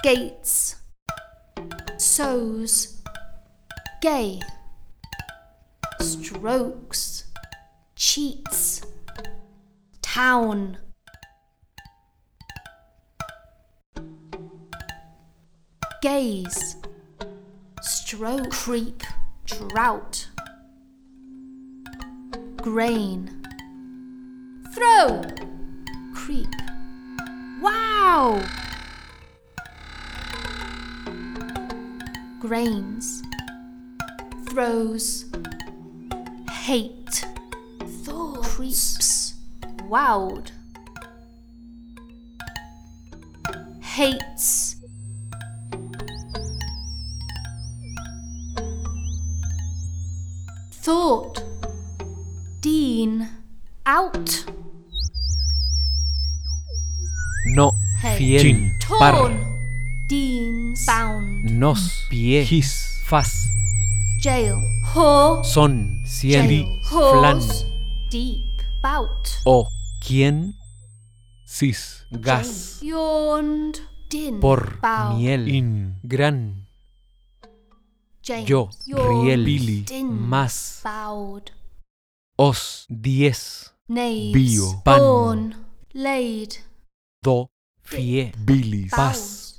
Gates. Sows. Gay. Strokes. Cheats. Town. Gaze. Stroke. Creep. Drought. Grain. Throw. Creep. Wow. Grains. Throws. Hate. Thoughts. Creeps. Wowed. Hates. Thought. Dean. Out. No, Hey. fiel, Chin. par, Torn. Deans. Bound. nos, pie, His. faz, Jail. Whore. son, cien, Jail. flan, Horse. Deep. Bout. o, quien, Sis. gas, Yawned. Din. por, Bow. miel, In. gran, James. yo, Yawned. riel, Billy. Din. más, Bowed. os, 10, Knaves. Bio. Pan. Born. Laid. do, fie, Bilis. paz,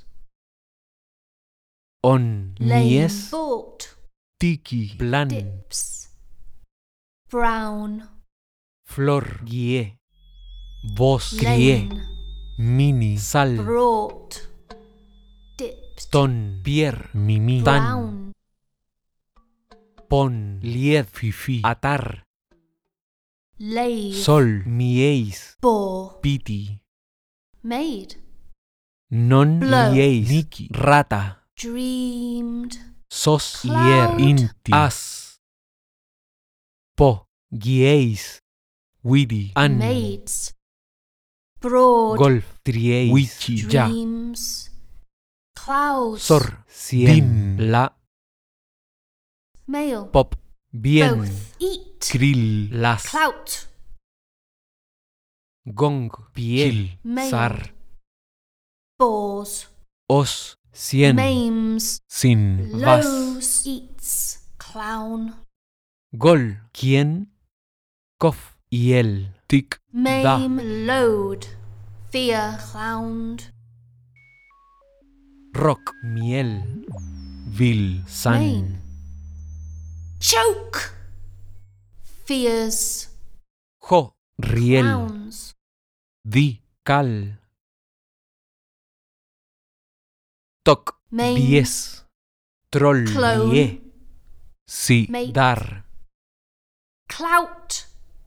on, Lane. mies, Bought. Tiki. plan, Dips. Brown. flor, guie, vos, crie, Lane. Mini. sal, Brought. Dipped. ton, pier, Mimi. tan, Brown. pon, lied, Fifi. atar, Laid. sol, mieis, Bore. piti, Made. non, Blow. lieis, Niki. rata, Dreamed. sos, Cloud. hier, Inti. as, po, guieis, Widi. an, Maids. Broad. golf, trieis, Wichi. ya, Dreams. Clouds. sor, cien, Din. la, Male. pop, bien, Both. Eat. Krill. las, Clout. gong, piel, Male. zar, Bores. os, cien, Maims. Sin. Vas. Lows. Eats. Clown. gol, quien, cof, y el, Tik. Maim. Load. Fear. Clowned. rock, miel, Vil. san, Main. Choke. Fears. jo, riel, Clowns. Di. cal, toc, Main. diez, troll, Clone. die, Si. Mate. dar, Clout.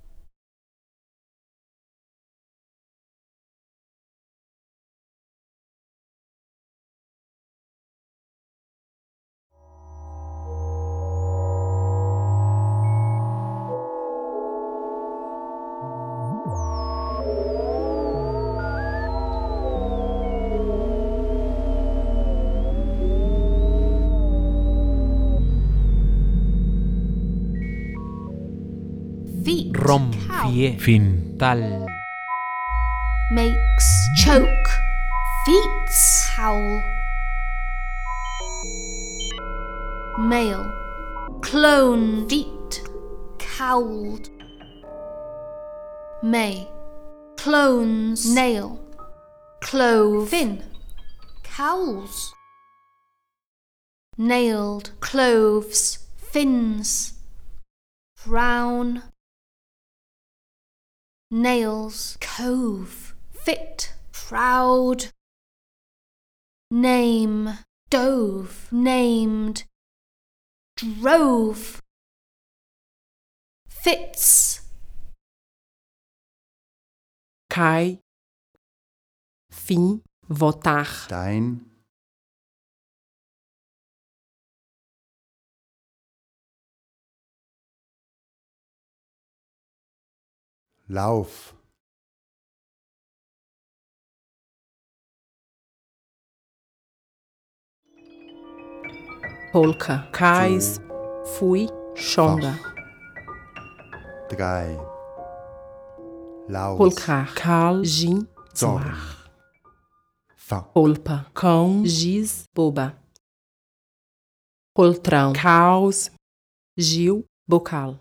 Feet. rom, Cow. fie, Fin. tal, Makes. Choke. Feet. Howl. Male. Clone. Feet. Cowled. May. Clones. Nail. Clove. Fin. Cowls. Nailed. Cloves. Fins. Brown. Nails. Cove. Fit. Proud. Name. Dove. Named. Drove. Fits. cai, fim, votar, Stein, Lauf, polka, cais, fui, chonda, Fach, 3, Laus, polkar, cal, gin, Zorn, zoar, fa, polpa, cão, giz, boba. Poltrão, caos, Gil, bocal.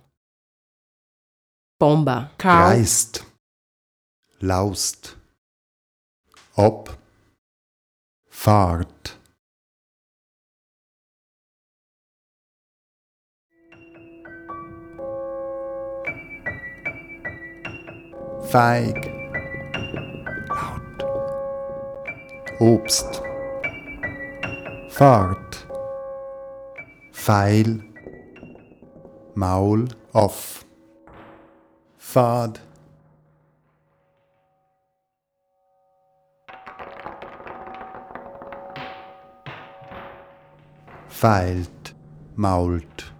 Pomba, caos, Geist, laust, ob, Fahrt. Feig, laut, Obst, Fahrt, Pfeil, Maul, off, Pfad, feilt, mault.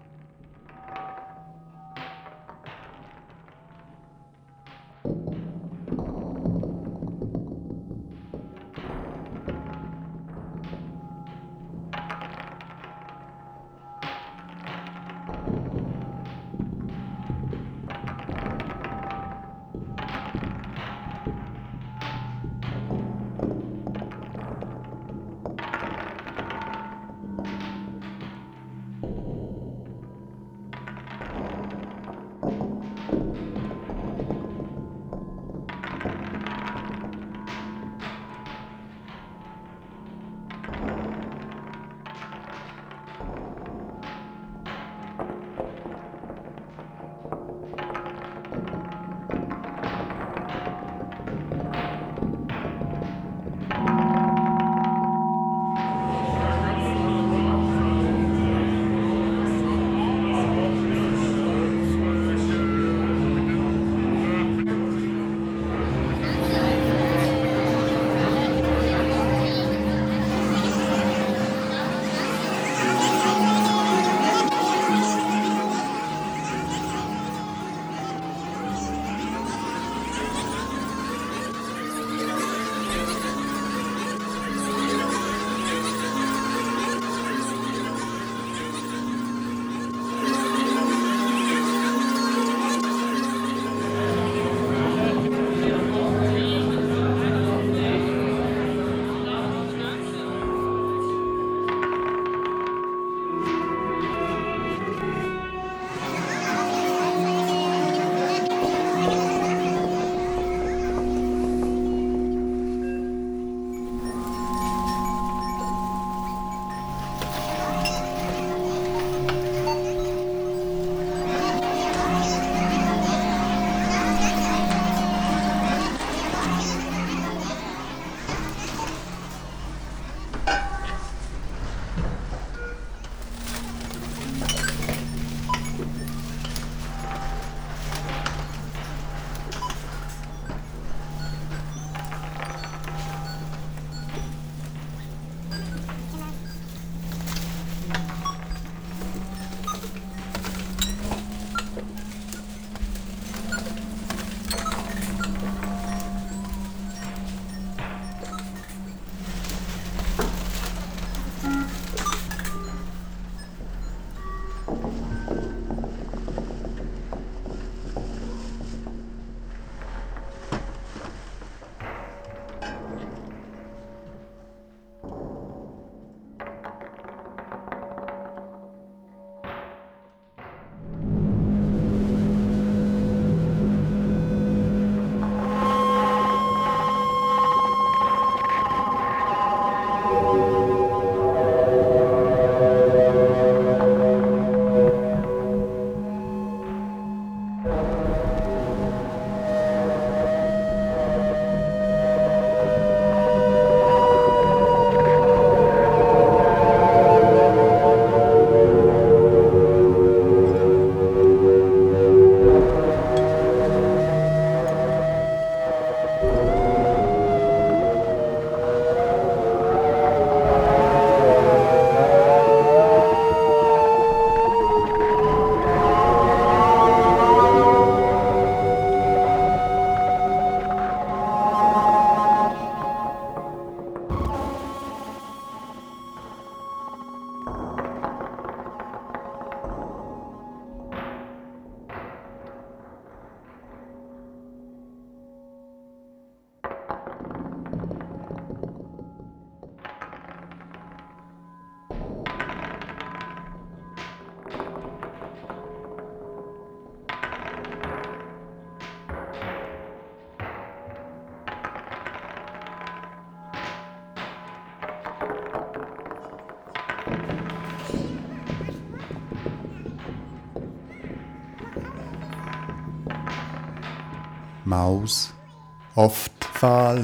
Maus, oft, Pfahl.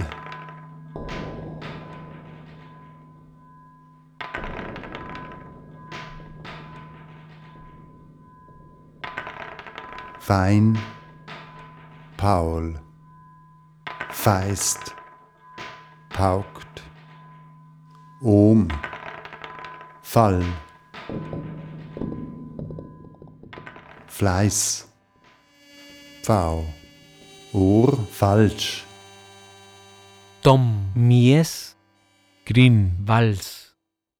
Fein, Paul, feist, paukt, Fall, Fleiß, Pfau, falsch, Tom, mies, Grin, vals.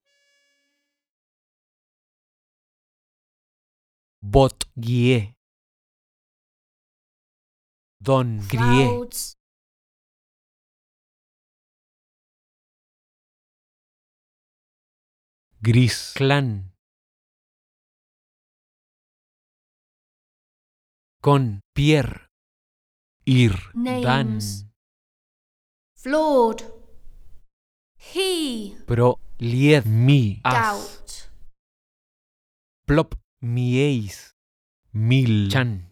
Bot, guie. Don, grie. Clouds. Gris, Clan. Con, Pierre. Ir, Dan. Names. Flawed. He. Pro, lied. Mi, As. Doubt. Plop, mieis. Mil, Chan.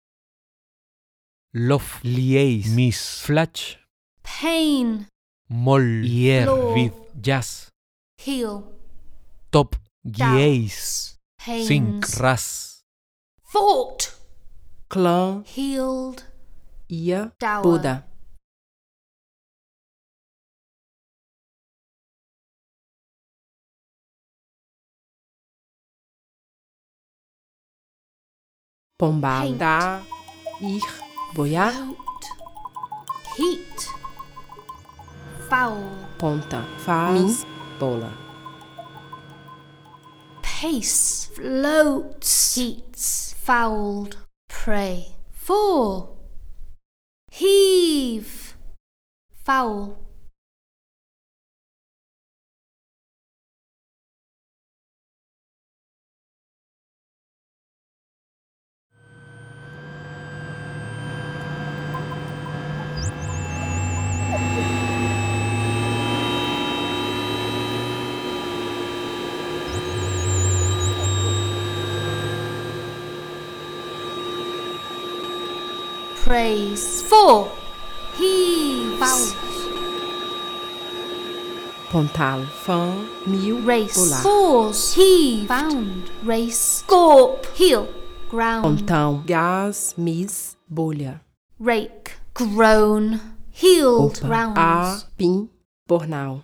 Lof, lieis. Mis, Flach. Pain. Mol, hier. Floor. Vid, jazz. Heel. Top, gieis. Doubts. Pains. Sink, ras. Fought. Clã, Healed. ia, Dower. Buda. Pombal, Paint. da, ir, boiar, Out. Heat. Foul. ponta, faz, bola. Pace. Floats. Heats. Fouled. Prey. Four. Heave. Foul. Praise. Four. Heaves. Pontal, fã, mil, Race. bolar. Fours. Heaved. Found. Race. Scorp. Heel. Ground. Pontão, gás, mis, bolha. Rake. Groan. Healed. Opa, Rounds. a, pin, bornal.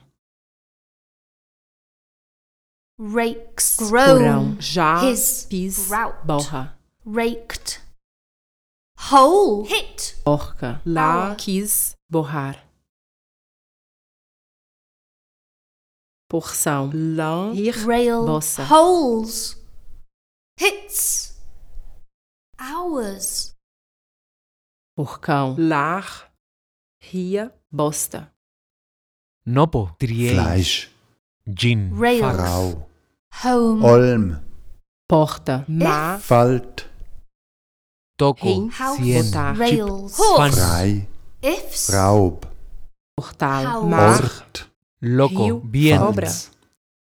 Rakes. Porão, Groan. já, His. pis, Route. borra. Raked. Hole. Hit. Orca, lá, Bola. quis, borrar. Porção, lã, ir, Rail. bossa. Holes. Hits. Hours. Porcão, lar, ria, bosta. Nopo, triei. Fleisch, Gin, Rails. Frau, Home. Olm, Porta, má, Falt, Toco, rim, House. cien. botar. Rails. Fan. Horse. Frei, Ifs. Raub, Portal, House. mar, Ort, Loco, Rio, bien. Cobra. Fals,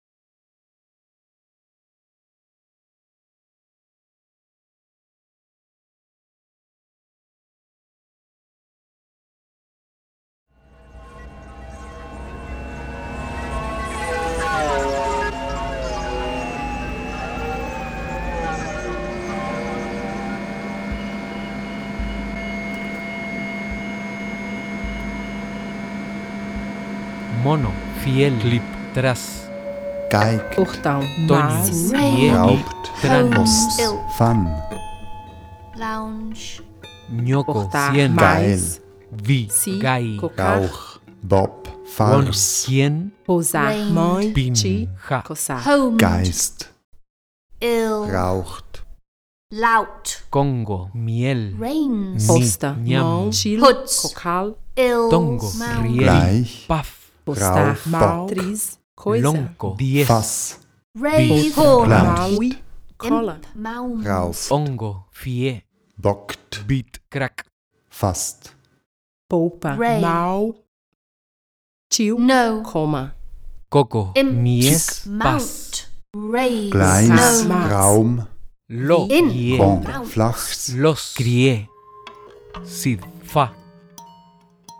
Mono, fiel. Clip, tras. Geig, portão, Tonho, mas, Rail. Bien. Raubt, Trans. Homes. Ill. Fan, Lounge. Ñoco, portar, cien. mais, Vi, si, gai. cocar, Rauch, Bob, One, Fars, cien. pousar, Rain. mãe, Pin, ti, ja. coçar. Homed. Geist, Ill. Raucht, Lout. Congo, miel. Rains. Posta, Nham. mão, chile, Hoods. cocal, Ill. Tongo, Mount. riel. Gleich, Paf, postar, Rauf, mal, bock. tris, coisa. lonco, diez. Fass, Rave. Porta, Horn. Plant. maui, cola. Imp. Mound. Rauf, Ongo, fie. Bockt, Bit, crack. Fast, Polpa, Ray. mal, tio, No. coma. Coco, Imp. mies, pas. Mount. Raise. Gleis, No. Max. Raum, Lo, In. ie. Kong, Mount. Flachs, Los, crié. Sid, fa.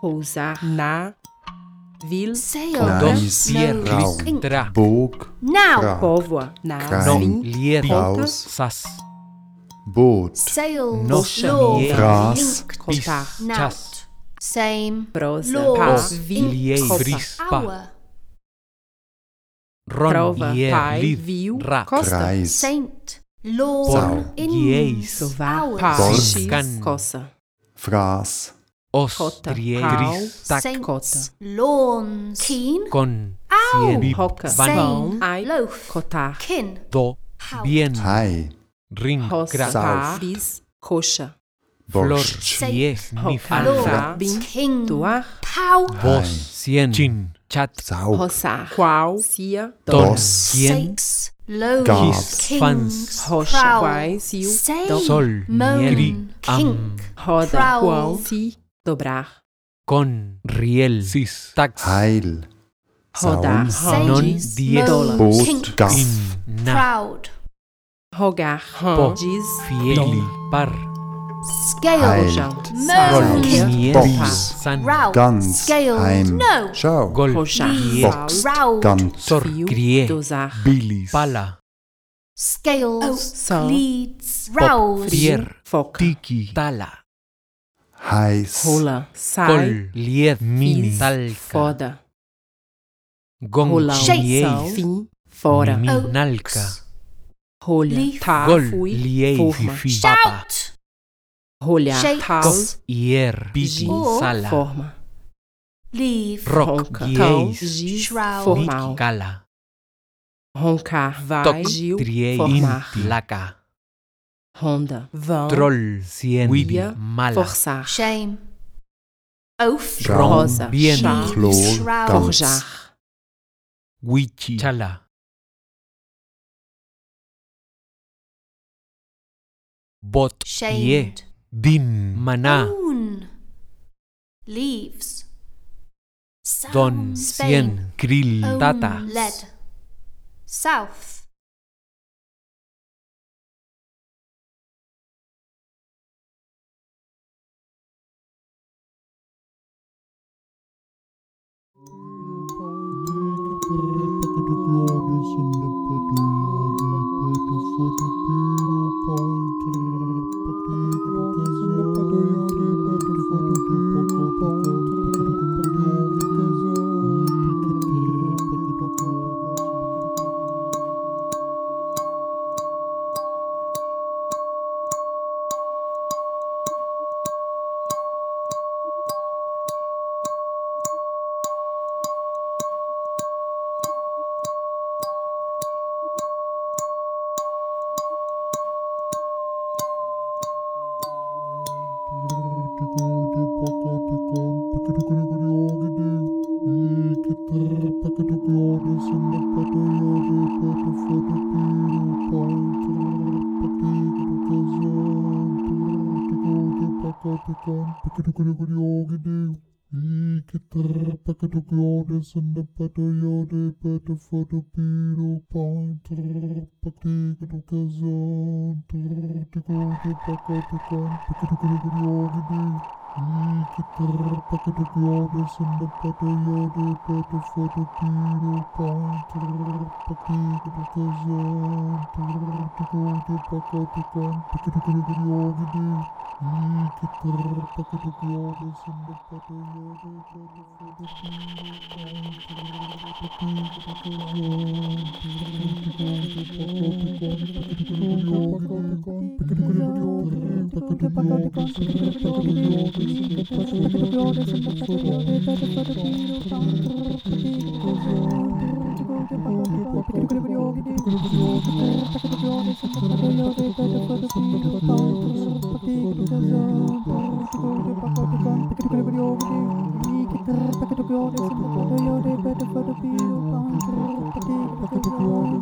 Pousar. Na. Vil. Sail. Dos, No. Raum. Ink. Tra. Bog, Now. Grab, Povoa. Na. No. Svin. Lier. Raus, Sas. Boot, Sails. Nos. Law. Gras, Linked. Bis. Kotar. Now. Chas. Same. Prosa. Law. Pa. Os. Vi. Lier. Kopa. Vris. Pa. Hour. Ron. Prova. Lier. Pai. Liv. Viu. Ra. Costa. Kreis, Saint. Law. Sau. Inns. Sovar. Hours. Pa. Born. Kan. Costa. Fraas, Os. Kota. Trier. Pau. Gris. Tak. Saints. Lawns. Keen. Con. Ow. Cien. Hoka. Van. Sane. Ai. Loaf. Kotar. Kin. Do. How. Bien. Hai, Ring. Hossa. Gra. Pa. Bis. Coxa. Flor. Borscht, Cie. Nif. Hoka. Law. Fa. Bin. King. Tuar. Pow. Vos. Hai. Cien. Chin. Chat. Saug, Roçar. Qual. Cia. Don. Dos. Cien. Six. Loaves. Gab. Kings. Fans. Rocha. Prowl. Quai. Sil. Say. Dom. Sol. Moan. Nieri. Am. Kink. Roda. Prowl. Qual. Si. Dobrar. Con. Riel. Sis. Tax. Heil, Rodar. Saum, Non. Sages. Diez. Moan. Boot, Kink. Gaff, In. Na. Proud. Rogar. Po. Diz. Fieli. Par. Scale. Heilt, Roll. Moan. Saus, Kink. Nier. Box, San. Route. Ganz, Scaled. Heim, No. Schau, Gol. Rochar. Lier. Box, Route. Gant, Sor. Fio. Grie. Dosar. Bilis, Pala. Scales. So. Leads. Pop. Rouse. Frier. Foca. Tiki, Tala. Heiß, Rola. Sai. Col. Lier. Mini, Talca. Foda. Gong. Rolão. Shake. Sal. Fim. Fora. Minalca. Rolha. Leaf. Tá. Gol. Fui. Lier. Forma. Fifi. Papa. Shout. Rolhar. Shake. Tal. Gos. Ier. Gi. Sala. Forma. Leave. Rock. Ronca. Gieis. Tal. Giz. Shroud. Formal. Cala. Roncar. Vai. Toc. Gil. Trier. Formar. Laca. Ronda. Vão. Troll. Cien. Ia. Mala. Forçar. Shame. Oath. Schaum, Rosa. Bien. Chá. Chlor, Shroud. Ganz, Forjar. Wichi, Chala. Bot. Ye. Shamed. Din, Maná. Moon. Leaves. Don. Sound. Spain. Cien. Krill, Own. Tata. Lead. South. Pakai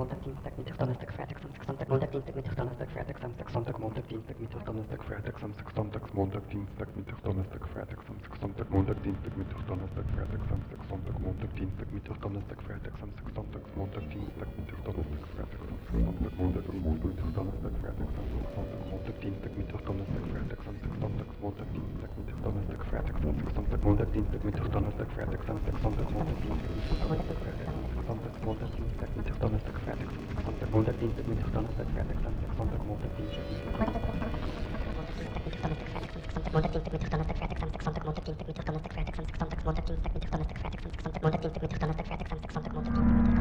Montag, Dienstag, Mittwoch, Donnerstag, Freitag, Samstag, Sonntag, Montag, Dienstag, Mittwoch, Donnerstag, Freitag, Samstag, Sonntag, Montag, Dienstag, Mittwoch, Donnerstag, Freitag, Samstag, Sonntag, Montag, Dienstag, Mittwoch, Donnerstag, Freitag, Samstag, Sonntag, Montag, Dienstag, Mittwoch, Donnerstag, Freitag, Samstag, Sonntag, Montag, Dienstag, Mittwoch, Donnerstag, Freitag, Samstag, Sonntag, Montag, Dienstag, Mittwoch, Donnerstag, Freitag, Samstag, Sonntag, Montag, Dienstag, Mittwoch, Donnerstag, Freitag, Samstag, Sonntag, Montag, Dienstag, Mittwoch, Donnerstag, Freitag, Samstag, Sonntag, Montag, Dienstag, Mittwoch, Donnerstag, Freitag, Samstag, Sonntag, Montag, Dienstag, Mittwoch, Donnerstag, Freitag, Samstag, Sonntag, Montag, Dienstag, Mittwoch, Donnerstag, Freitag, Samstag, Sonntag, Montag, Dienstag, Mittwoch, Donnerstag, Freitag, Samstag, Sonntag, Montag, Dienstag, Mittwoch, Donnerstag, Freitag, Samstag, Sonntag, Montag, Dienstag, Mittwoch, Donnerstag, Montag, Dienstag, Mittwoch, Donnerstag, Freitag, Samstag, Sonntag, Montag, Dienstag, Mittwoch, Donnerstag, Freitag, Samstag, Sonntag, Montag, Dienstag, Mittwoch, Donnerstag, Freitag, Samstag, Sonntag, Montag, Dienstag, Mittwoch, Donnerstag, Freitag, Samstag, Sonntag, Montag, Dienstag, Mittwoch,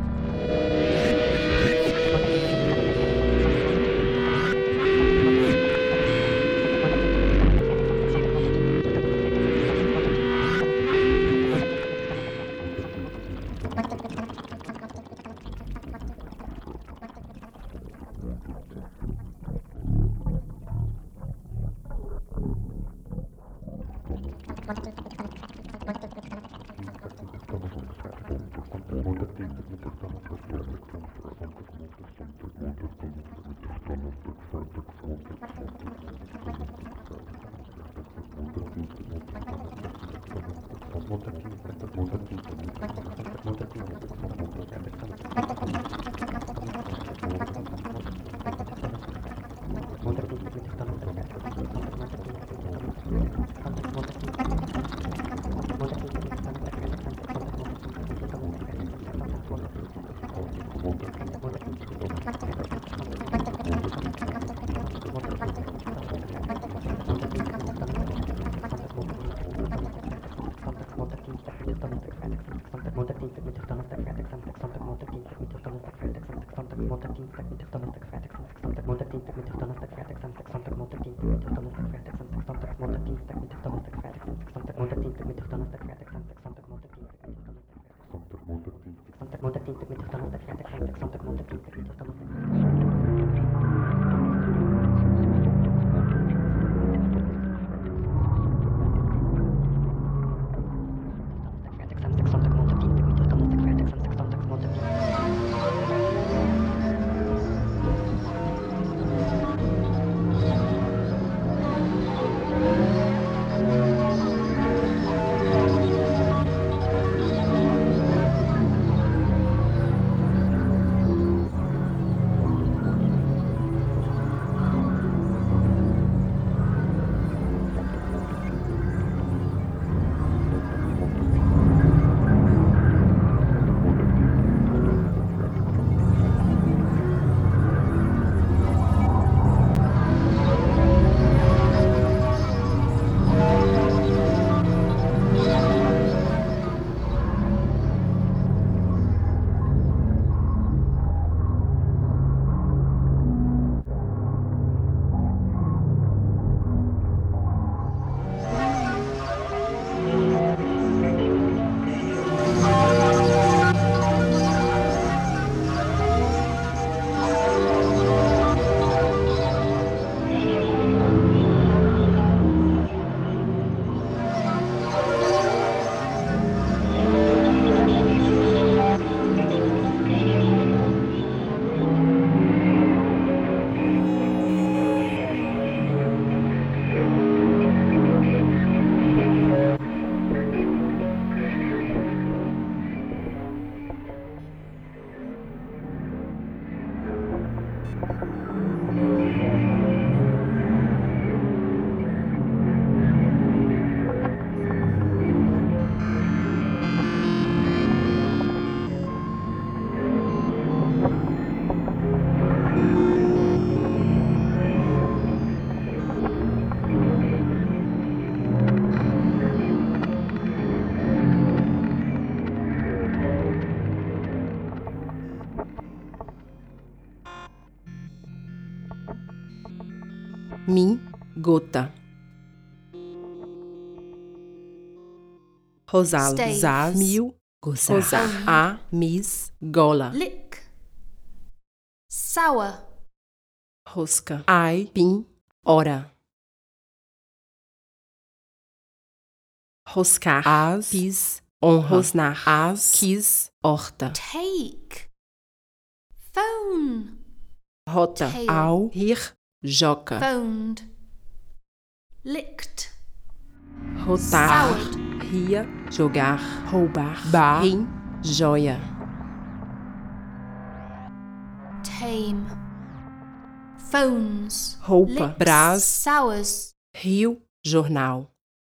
Mi gota. Rosalo. Stave. Zaz. Mil. Gozar. Gozar. A. Mis. Gola. Lick. Sour. Rosca. Ai. Pin. Hora. Roscar. As. Pis. Honra. Rosnar. As. Quis. Horta. Take. rota, Tail. ao, rir, joca, Phoned. Licked. rotar, Soured. ria, jogar, roubar, bar, rim, joia, Tame. Phones. roupa, Lips. brás, Sours. rio, jornal,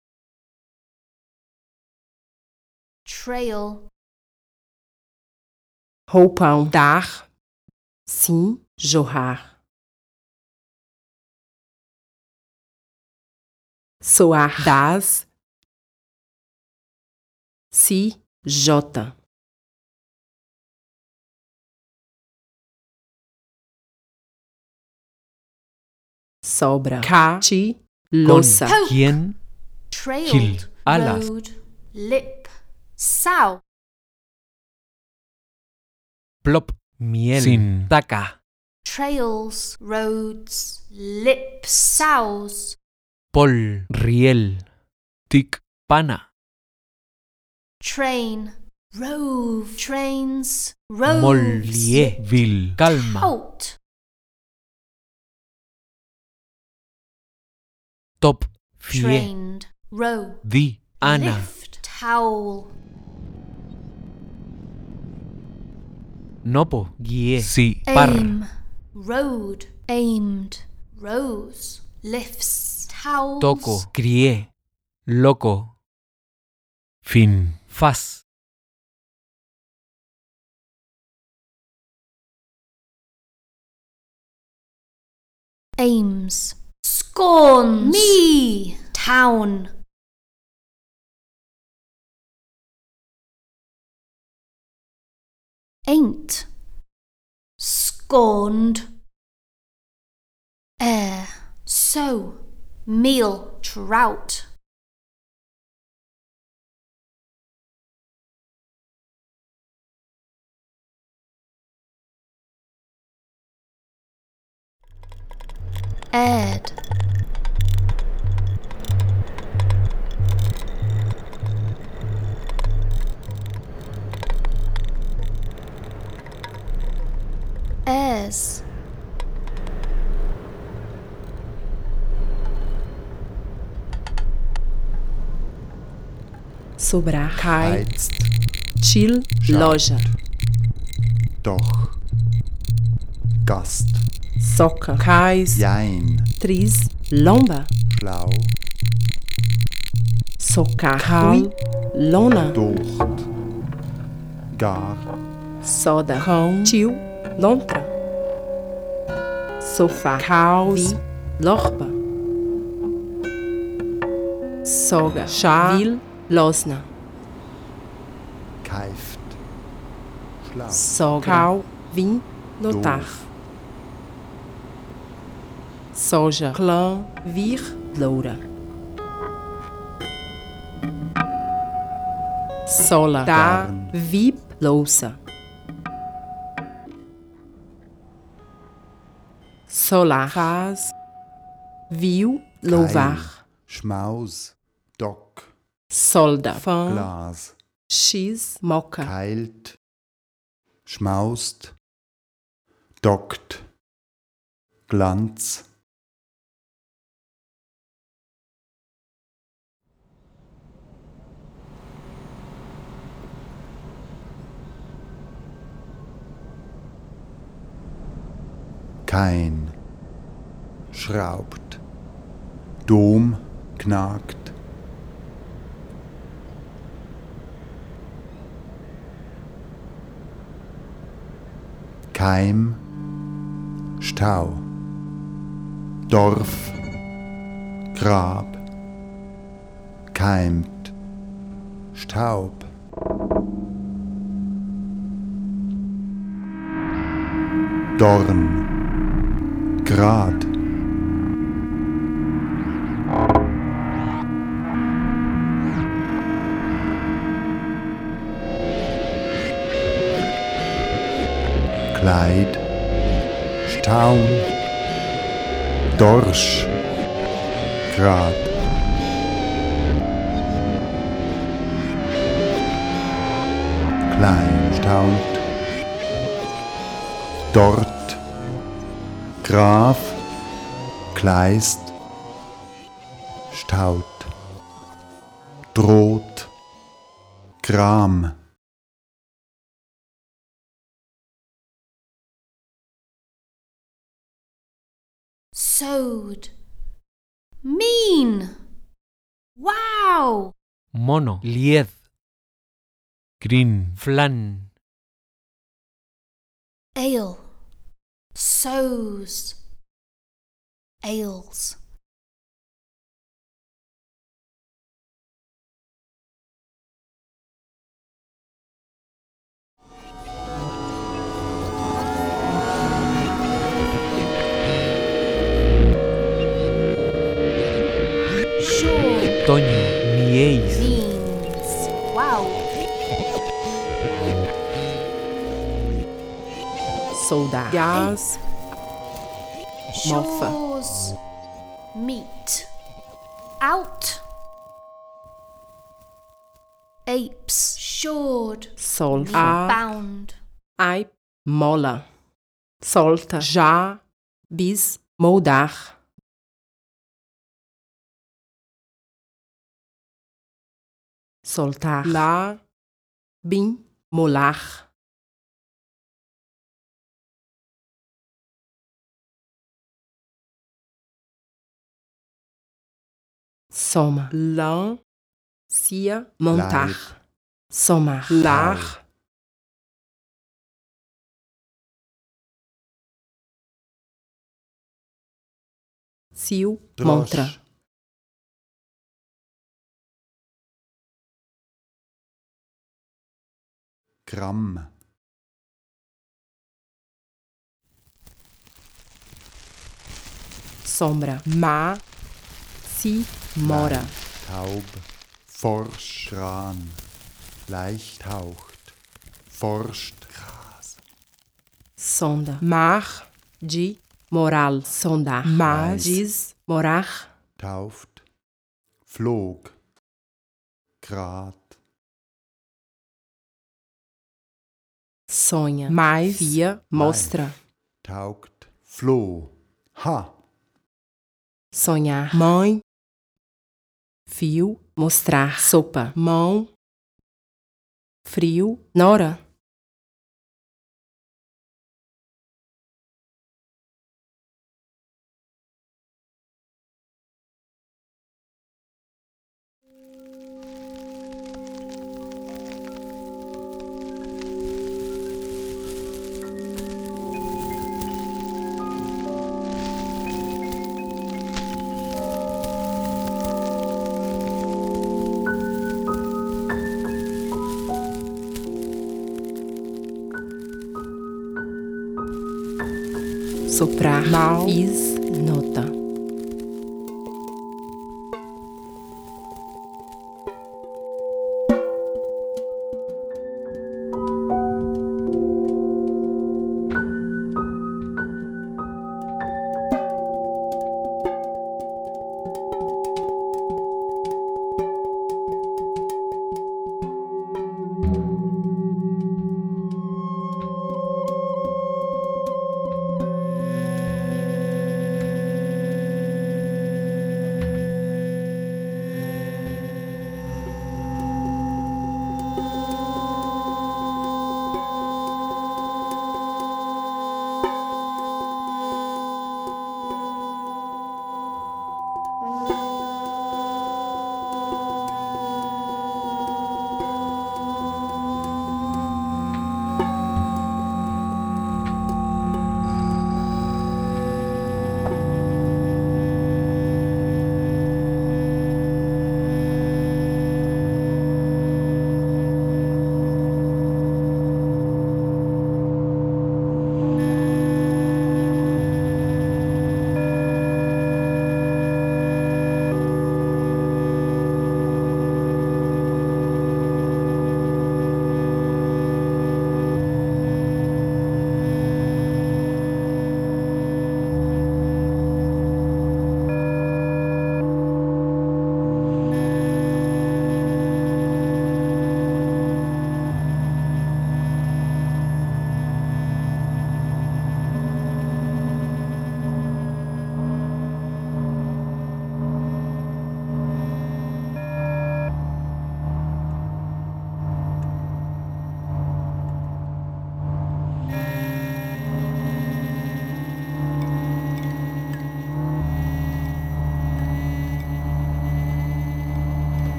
Trail. roupão, dar, sim, jorrar, soar, das, si, jota, sobra, cá, ti, Con louça, quién, Trailed. alas. Road. Lip. Sow. plop, miel, Sin. taca, Trails. Roads. Lips. Sows. pol, riel, tic, pana, Train. Rove. Trains. Roves. mollier, vil, calma, Halt. top, fier, Trained. Row. di, ana, Lift. Towel. nopo, guié, si, par, Aim. Road. Aimed. Rose. Lifts. Towels. toco, crié, loco, fin, faz, Aims. Scorns. Me. Town. Ain't. Scorned. Air. So. Meal. Trout. Aired. Airs. sobrar, cai, heizt, chill, Schaut. loja, doch, Gast, soca, cais, jein, tris, lomba, schlau, socar, cal, lona, docht, gar, soda, cão, tio, lontra, sofá, caos, lorba, soga, chá, vil, losna, keift, schlau, sogra, cal, vim, notar, doof, soja, clã, vir, loura, sola, dar, Garn. vip, louça, solar, faz, viu, louvar, Schmaus, Dock, solda, fã, Glas, x, moca, keilt, schmaust, dockt, Glanz, kein, schraubt, Dom, knagt, Keim, Stau, Dorf, Grab, keimt, Staub, Dorn, Grad, Kleid, Staun, Dorsch, Grad, klein, staunt, dort, Graf, Kleist, Staud, Droht, Gram, Sewed. Mean. Wow. Mono. Lied. Grin. Flan. Ale. Sows. Ales. Sure. Toño. Nieis. Means. Wow. Soldar. Gás. Mofa. Shores. Meat. Out. Apes. Shored. Solta. Bound. Ai. Mola. Solta. Já. Bis. Moldar. Soltar. Lá. Bim. Molar. Soma. Lã. Cia. Montar. Leib, Somar. Lar. Cio. Montra. Drosch, Gramm, Sombra. Ma. Si. Mora. Taub, Forsch, Gran, leicht haucht, forscht, Gras, Sonda. Mar. De. Moral. Sondar. Mais. Diz. Morar. tauft, flog, Grad, Sonha. Mais. Via. Mostra. taugt, floh, ha, Sonhar. Mãe. Fio. Mostrar. Sopa. Mão. Frio. Nora. Soprar. Mal. Is. Nota.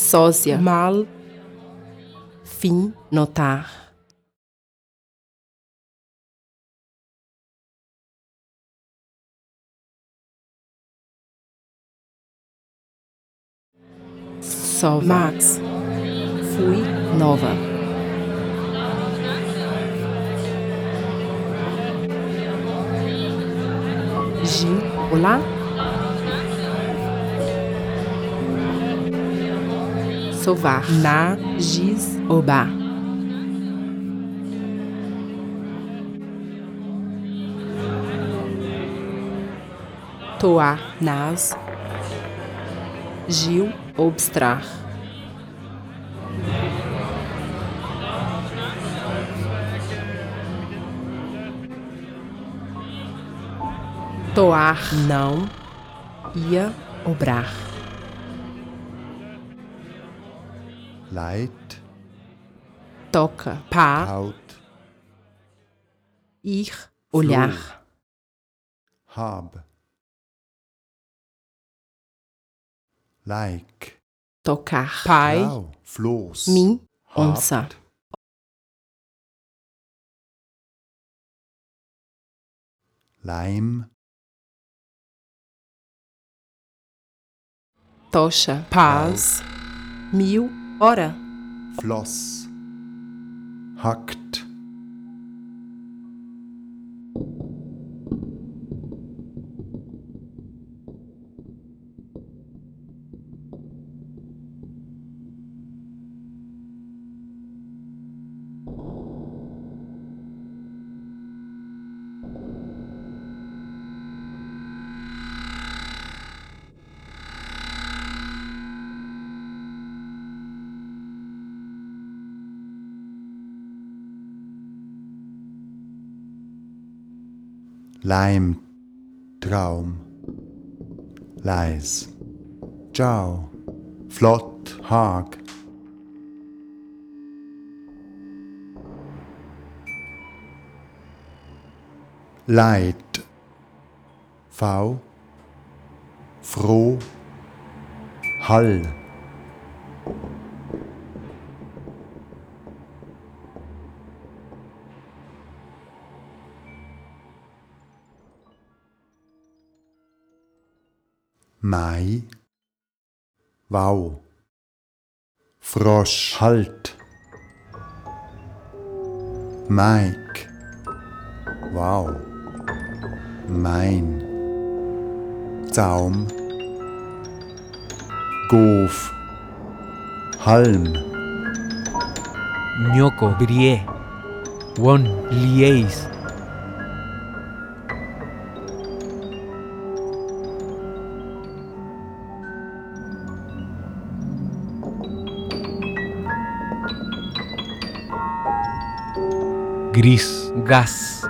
sósia, mal, fim, notar. Só, Max, fui, nova. Gil, olá. Sovar, na, giz, oba. Toar, nas. Gil, obstrar. Toar, não. Ia, obrar. Leit, Toca, pá. taut, Ir, olhar. hab. Like, Tocar, pai. Trau, Floß, Mim, habt, onça. Leim, Tocha, paz. Mil, hora. Floss, hackt, Leim, Traum, leis. Ciao, flott, Hag. Leid, V, froh, Hall. Mai, Wow, Frosch, Halt. Mike, Wow, Mein. Zaum, Gof, Halm. Nyoko, Brie. Won, Lieis. Gris, gas.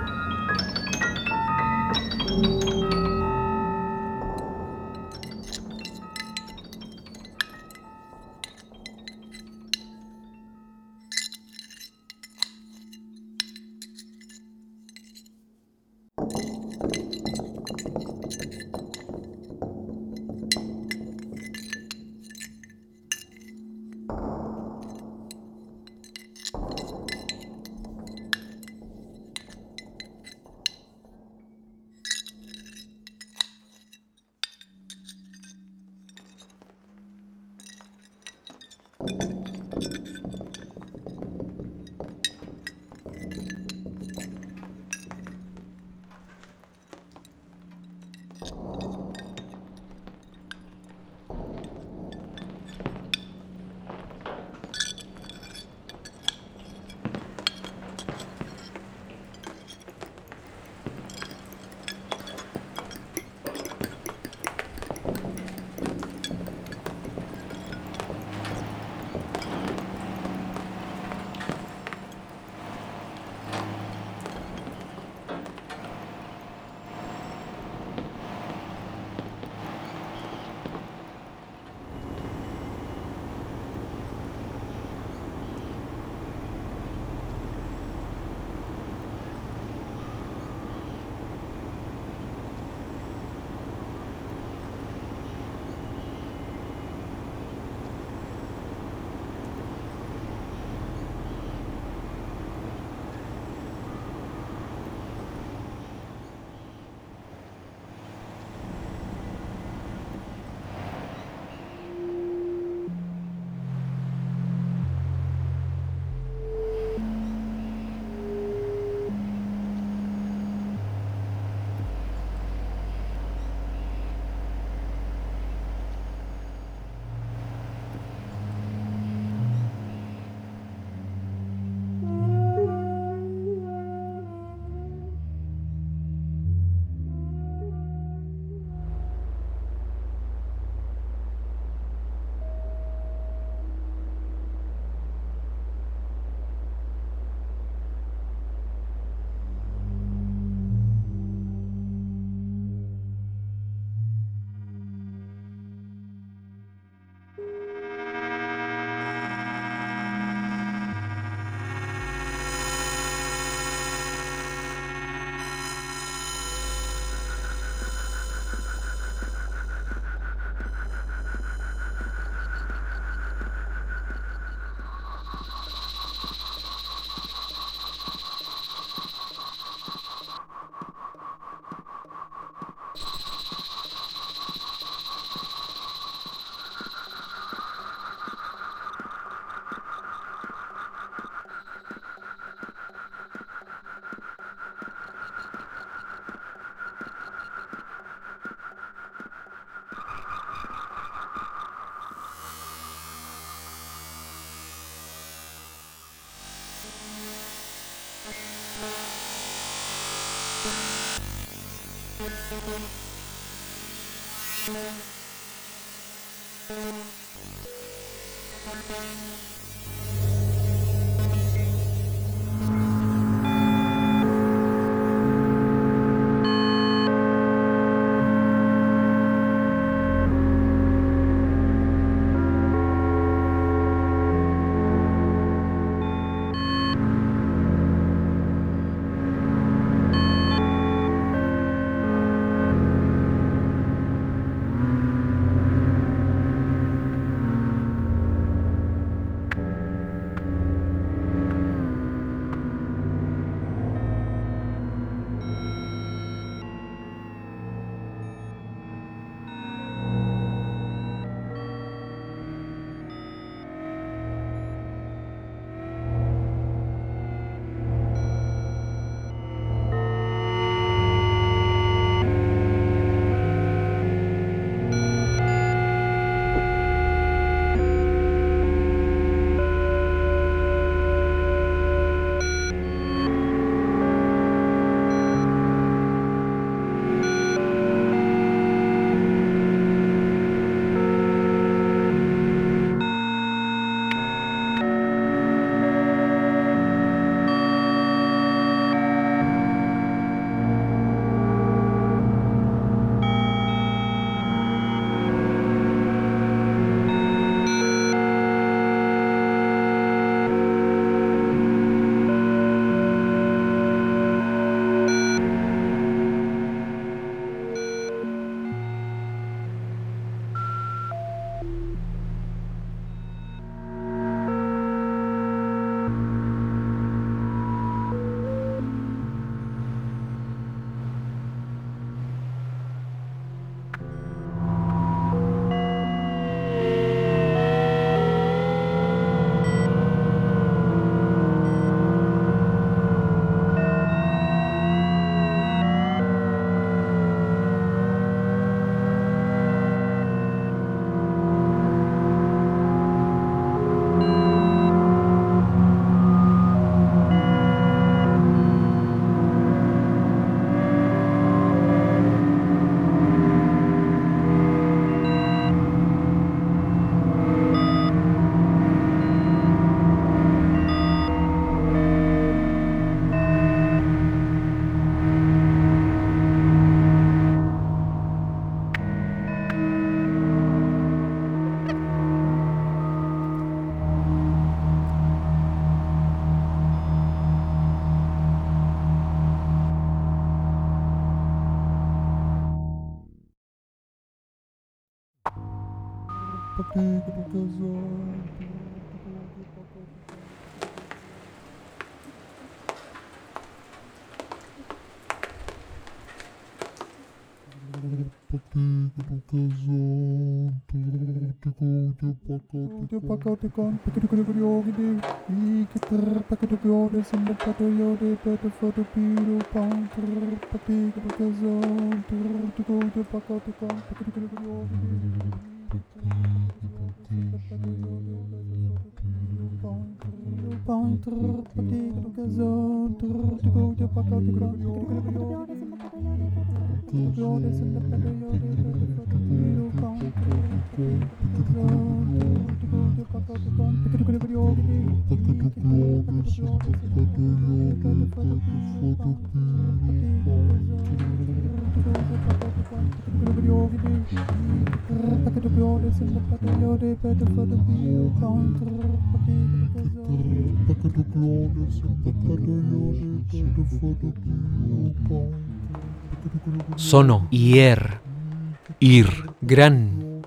Sono, ier, ir, gran.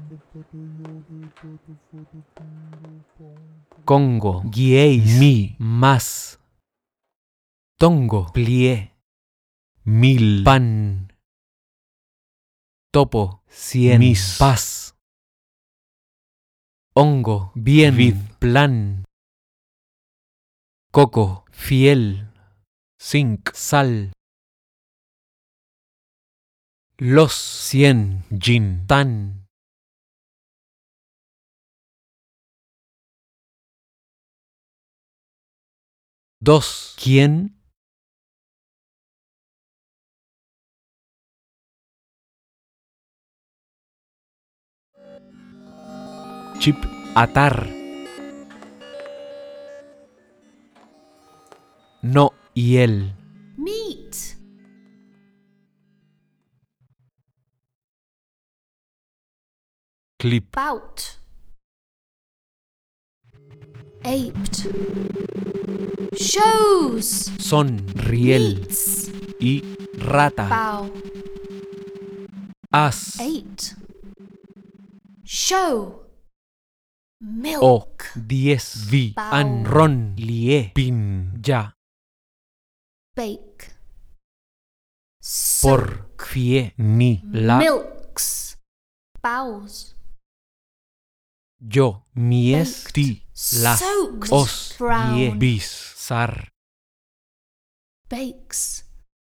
Congo, guieis, mi, más. Tongo, plie, mil, pan. Topo, cien, mis, paz. Hongo, bien, vid, plan. Coco, fiel, zinc, sal. Los, cien, gin, tan. Dos, ¿quién? chip, atar. No, hiel. Meat. Clip, Bout. Aped. Shows. son, riel. Meats. Y rata. Bow. As, Eight. Show. Milk. o, 10. Vi, Bow. an, ron, lie. pin, Ya, Bake. por, Soak. fie. ni, La, Milks. Bows. yo, mies, Baked. ti. Las, Soaked. os, Brown. ie. bis, Sar, Bakes.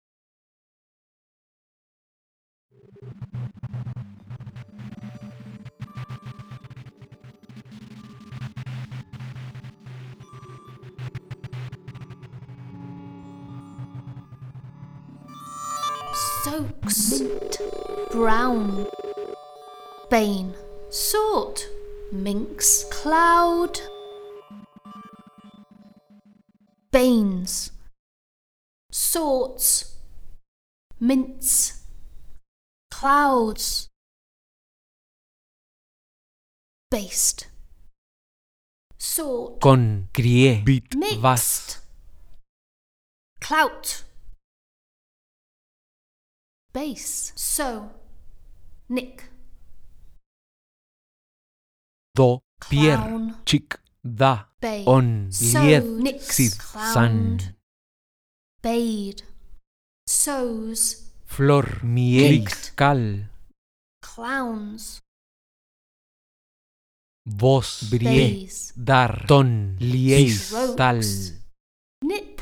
Soaks. Brown. Bane. Sort. Minx. Cloud. Banes. Sorts. Mince. Clouds. Based. Sort. con, crié. bit, Mixed. vas. Clout. Base. So. Nick. Do, pier, Clown. chic, da, Bay. on, So. lied, Nix. sid, san. Clowned. Bade. Sows. Flor, miel, Caked. cal. Clowns. Vos, brie. Bays. Dar, ton, lies, Strokes. tal. Nip.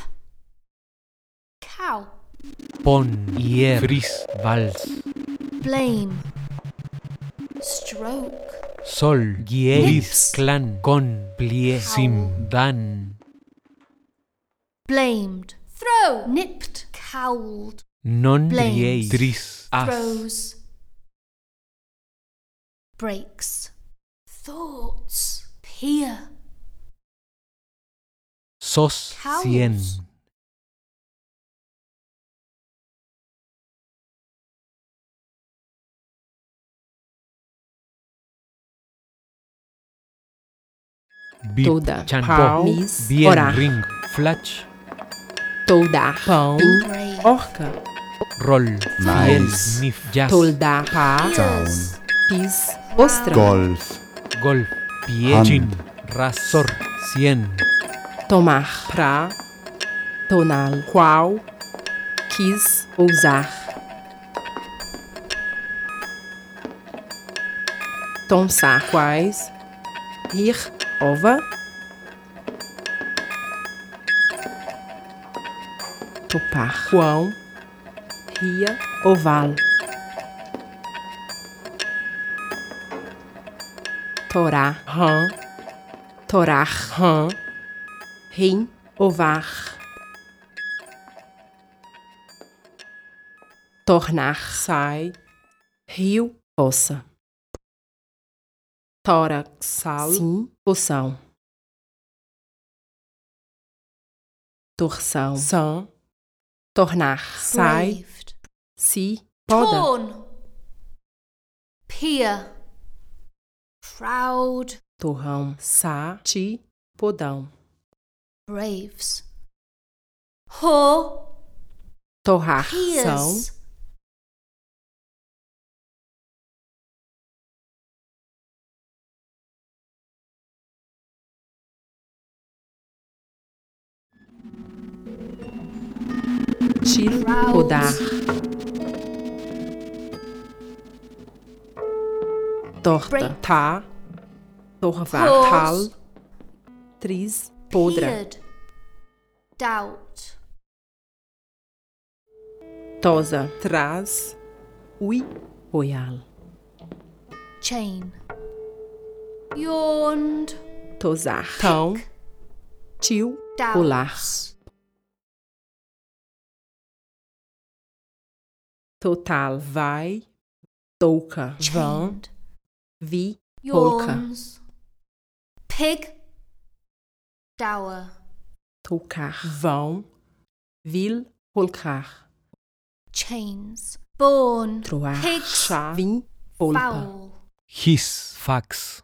Cow. Pon, hier, fris, vals. Blame. Stroke. Sol, gies, Nips. clan, con, plie, Sim. dan. Blamed. Throw. Nipped. Cowled. Non, Blames. brie, tris, as. Throws. Breaks. Thoughts. Peer. Sos, Cows. 100. Bip, Toda. chan, Pau. po, Mis. bien, Orar. ring, flatch, Toldar. Pão. Brave. Orca. roll, Mais. fiel, nif, jazz, Toldar. Pá. Ears. Pis. Ostra. Golf, golf, pie, Han. chin, rasor, 100. Tomar. Pra. Tonal. Qual. Quis. Ousar. Tonsar. Quais. Rir. Ova. Topar. Quão. Ria. Oval. Torá. Rã. Torar. Rã. Rim. Ovar. Tornar. Sai. Rio. Poça. Tórax. Sal. Sim. Poção. Torção. São. Tornar. Sai. Braved. Se. Poda. Torn. Peer. Proud. Torrão. Sa. Ti. Podão. Braves. Whore. Torrar. São. Peers. Til. Proud. Podar. Torta. Break. Tá. Torvar. Pause. Tal. Tris. Podra. Peered. Doubt. Tosa. Traz. Ui. Royal. Chain. Yawned. Tosar. Tão. Tio. Pular. Doubts. Total. Vai. Touca. Vão. Chained. Vi. Polka. Yawns. Pig. Dower. Trocar. Vão. Vil. Holcar. Chains. Born. Troar. Pigs. Chá. Vim. Polpa. Fowl. His. Fax.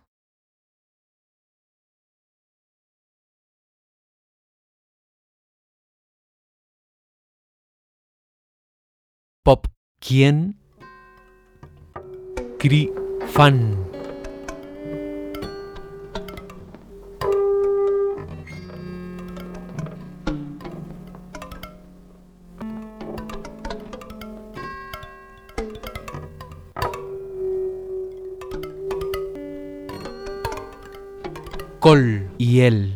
Pop. ¿Quién? Cri. Fan. Col. Y él.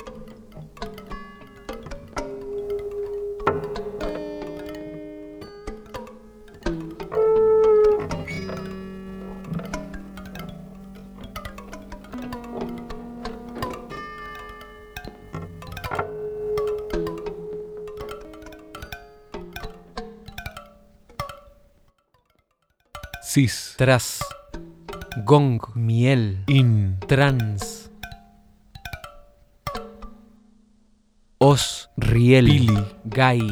Cis. Tras. Gong. Miel. In. Trans. Os. Riel. Pili. Gay.